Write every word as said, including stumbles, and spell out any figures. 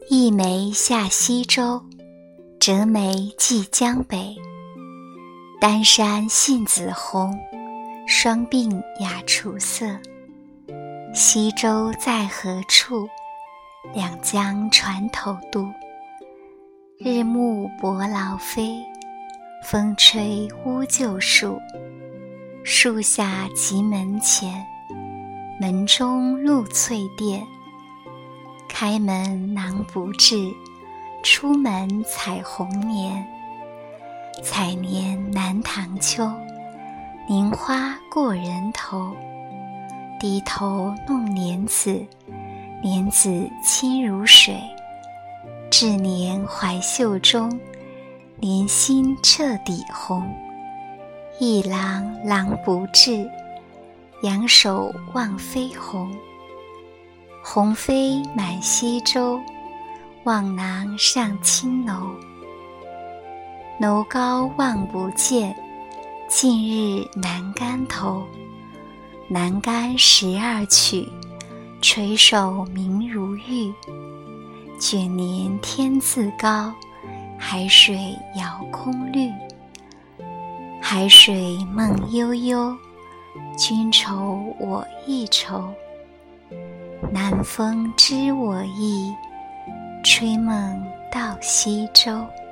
一梅下西洲，折梅寄江北。丹山杏子红，双鬓雅楚色。西洲在何处？两江船头渡。日暮伯劳飞，风吹乌桕树。树下即门前，门中露翠钿。开门囊不至，出门采红莲。采莲南塘秋，菱花过人头。低头弄莲子，莲子清如水。至莲怀袖中，莲心彻底红。一郎郎不至，仰首望飞鸿。鸿飞满西洲，望郎上青楼。楼高望不见，近日南竿头。南竿十二曲，垂首明如玉。卷帘天自高，海水遥空绿。海水梦悠悠，君愁我亦愁。南风知我意，吹梦到西洲。